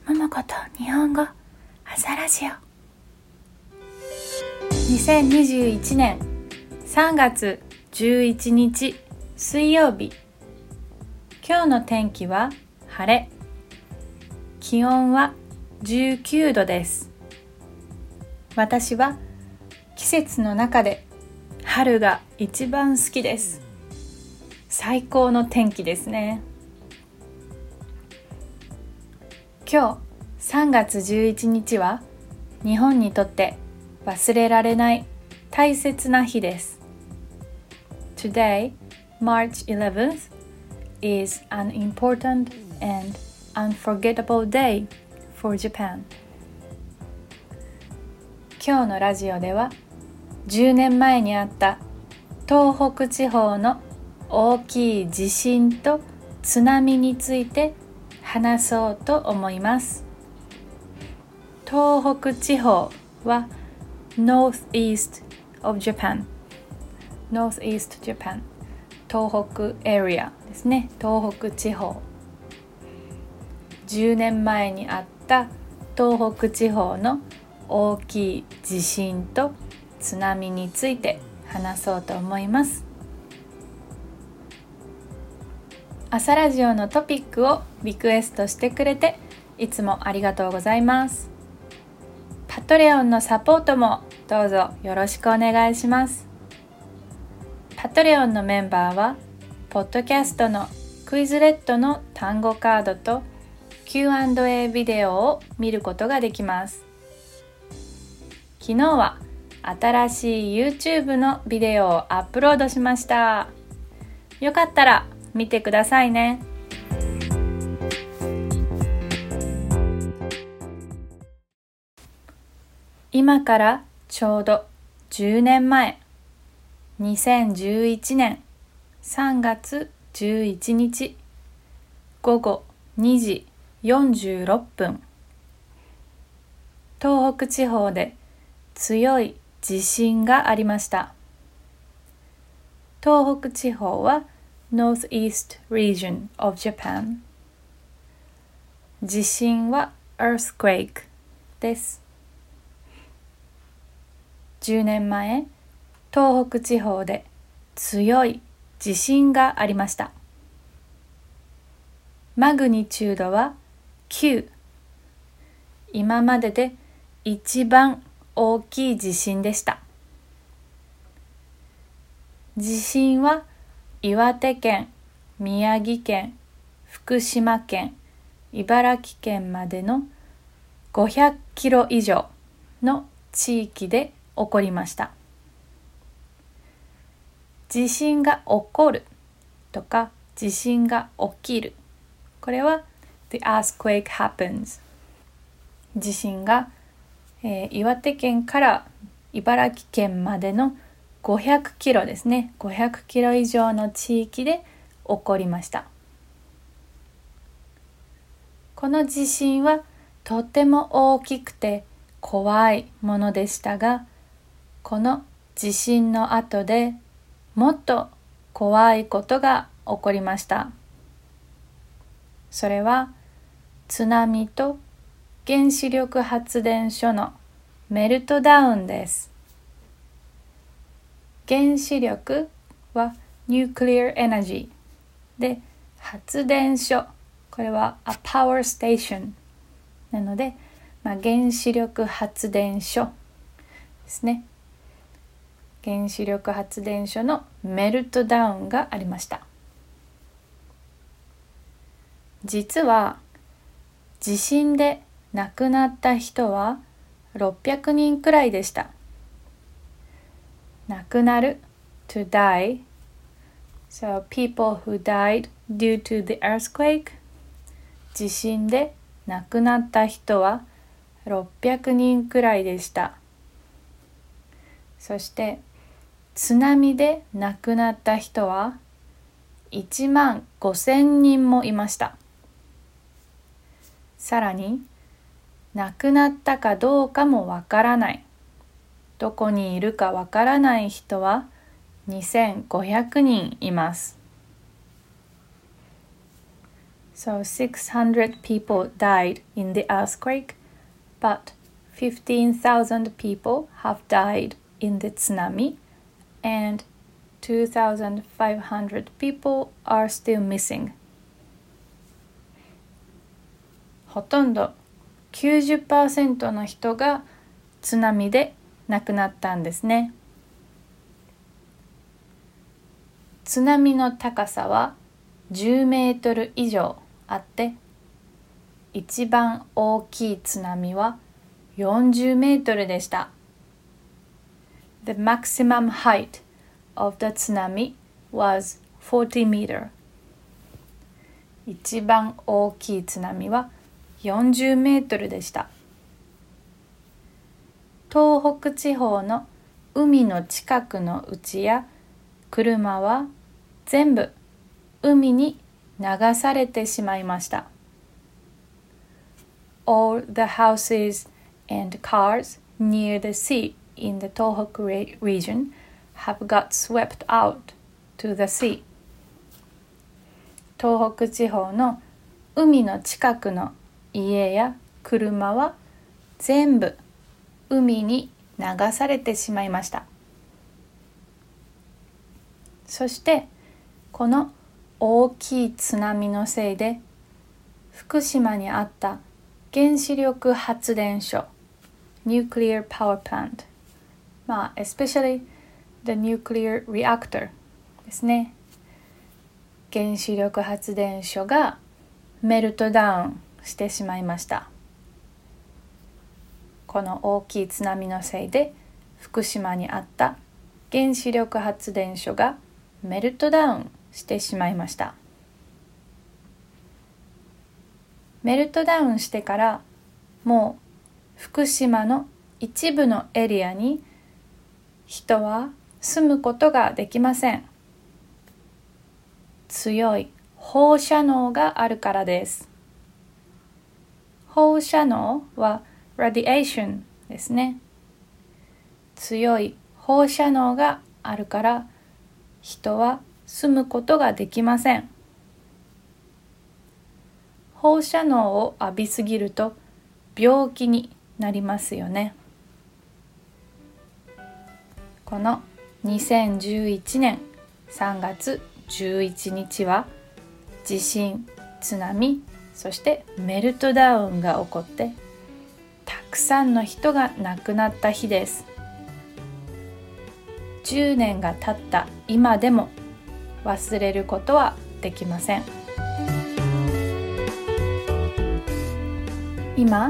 桃子と日本語朝ラジオ2021年3月11日水曜日。今日の天気は晴れ。気温は19度です。私は季節の中で春が一番好きです。最高の天気ですね。今日3月11日は日本にとって忘れられない大切な日です。Today, March 11th, is an important and unforgettable day for Japan. 今日のラジオでは10年前にあった東北地方の大きい地震と津波について話そうと思います。東北地方は Northeast of Japan、 Northeast Japan、 東北エリアですね。東北地方、10年前にあった東北地方の大きい地震と津波について話そうと思います。朝ラジオのトピックをリクエストしてくれていつもありがとうございます。パトレオンのサポートもどうぞよろしくお願いします。パトレオンのメンバーはポッドキャストのクイズレットの単語カードと Q&A ビデオを見ることができます。昨日は新しい YouTube のビデオをアップロードしました。よかったら見てくださいね。今からちょうど10年前、2011年3月11日午後2時46分、東北地方で強い地震がありました。東北地方はNortheast region of Japan。 地震は earthquake です。10年前、東北地方で強い地震がありました。マグニチュードは9。今までで一番大きい地震でした。地震は岩手県、宮城県、福島県、茨城県までの500キロ以上の地域で起こりました。地震が起こるとか地震が起きる、これは The earthquake happens。 地震が、岩手県から茨城県までの500キロですね。500キロ以上の地域で起こりました。この地震はとても大きくて怖いものでしたが、この地震の後でもっと怖いことが起こりました。それは津波と原子力発電所のメルトダウンです。原子力は Nuclear Energy で、発電所、これは A Power Station なので、原子力発電所ですね。原子力発電所のメルトダウンがありました。実は地震で亡くなった人は600人くらいでした。亡くなる to die。 So people who died due to the earthquake。 地震で亡くなった人は600人くらいでした。そして津波で亡くなった人は1万5000人もいました。さらに亡くなったかどうかもわからない、どこにいるかわからない人は2500人います。 So 600 people died in the earthquake, but 15,000 people have died in the tsunami, and 2,500 people are still missing. ほとんど 90% の人が津波で亡くなったんですね。津波の高さは10メートル以上あって、一番大きい津波は40メートルでした。The maximum height of the tsunami was 40 meter. 一番大きい津波は40メートルでした。東北地方の海の近くの家や車は全部海に流されてしまいました。All the houses and cars near the sea in the Tohoku region have got swept out to the sea. 東北地方の海の近くの家や車は全部海に流されてしまいました。そしてこの大きい津波のせいで福島にあった原子力発電所 Nuclear Power Plant、especially the nuclear reactor ですね。原子力発電所がメルトダウンしてしまいました。この大きい津波のせいで福島にあった原子力発電所がメルトダウンしてしまいました。メルトダウンしてからもう福島の一部のエリアに人は住むことができません。強い放射能があるからです。放射能は radiation ですね。強い放射能があるから人は住むことができません。放射能を浴びすぎると病気になりますよね。この2011年3月11日は地震、津波、そしてメルトダウンが起こってたくさんの人が亡くなった日です。10年が経った今でも忘れることはできません。今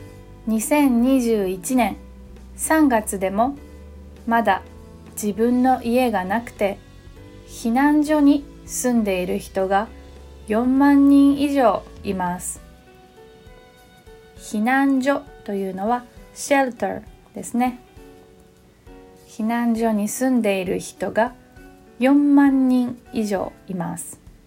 2021年3月でもまだ自分の家がなくて避難所に住んでいる人が4万人以上います。避難所というのは shelter ですね。避難所に住んでいる人が4万人以上います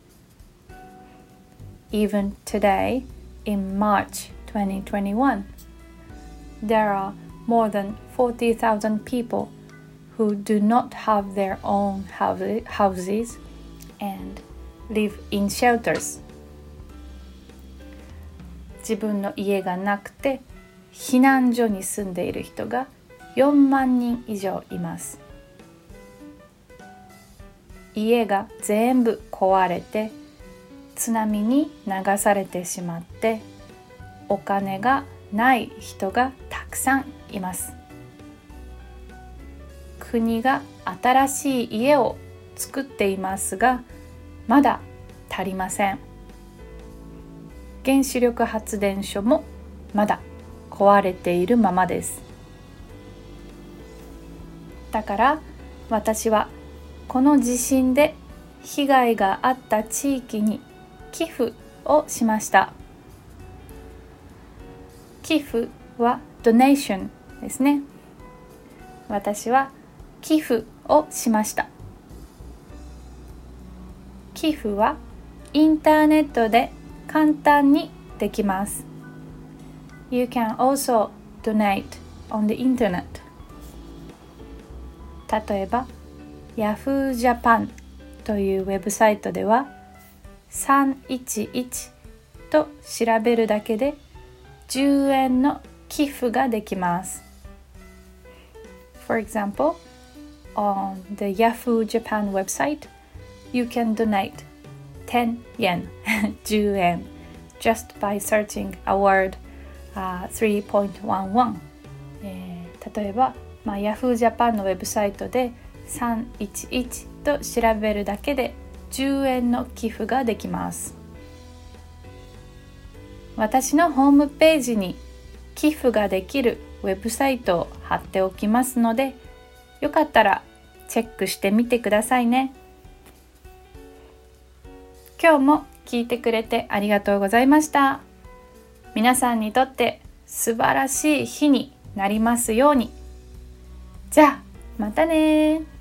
。Even today, in March 2021, there are more than 40,000 people who do not have their own houses and live in shelters. 自分の家がなくて避難所に住んでいる人が4万人以上います。家が全部壊れて津波に流されてしまってお金がない人がたくさんいます。国が新しい家を作っていますがまだ足りません。原子力発電所もまだ壊れているままです。だから私はこの地震で被害があった地域に寄付をしました。寄付は donation ですね。私は寄付をしました。寄付はインターネットで簡単にできます。You can also donate on the internet. 例えば Yahoo Japan というウェブサイトでは311 と調べるだけで10円の寄付ができます。For example, on the Yahoo Japan website, you can donate 10 yen 10円 just by searching a word、3.11、例えば、Yahoo Japan のウェブサイトで311と調べるだけで10円の寄付ができます。私のホームページに寄付ができるウェブサイトを貼っておきますので、よかったらチェックしてみてくださいね。今日も聞いてくれてありがとうございました。皆さんにとって素晴らしい日になりますように。じゃあまたね。